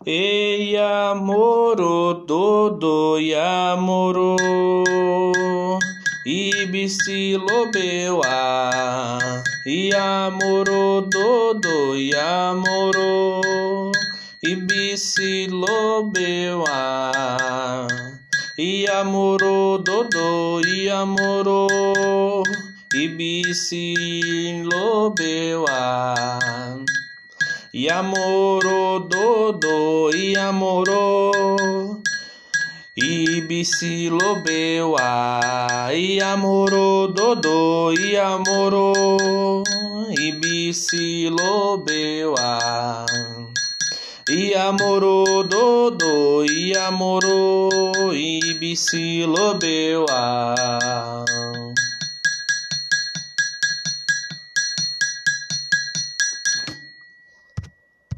Ei, amoro, dodo e amoro, ibisi lobewa, e amoro, dodo e amoro, ibisi lobewa, e amoro, dodo e amoro, ibisi lobewa. E amoro, dodo e amoro, ibisi lobewa. E amoro, dodo e amoro, ibisi lobewa. E amoro, dodo e amoro, ibisi lobewa.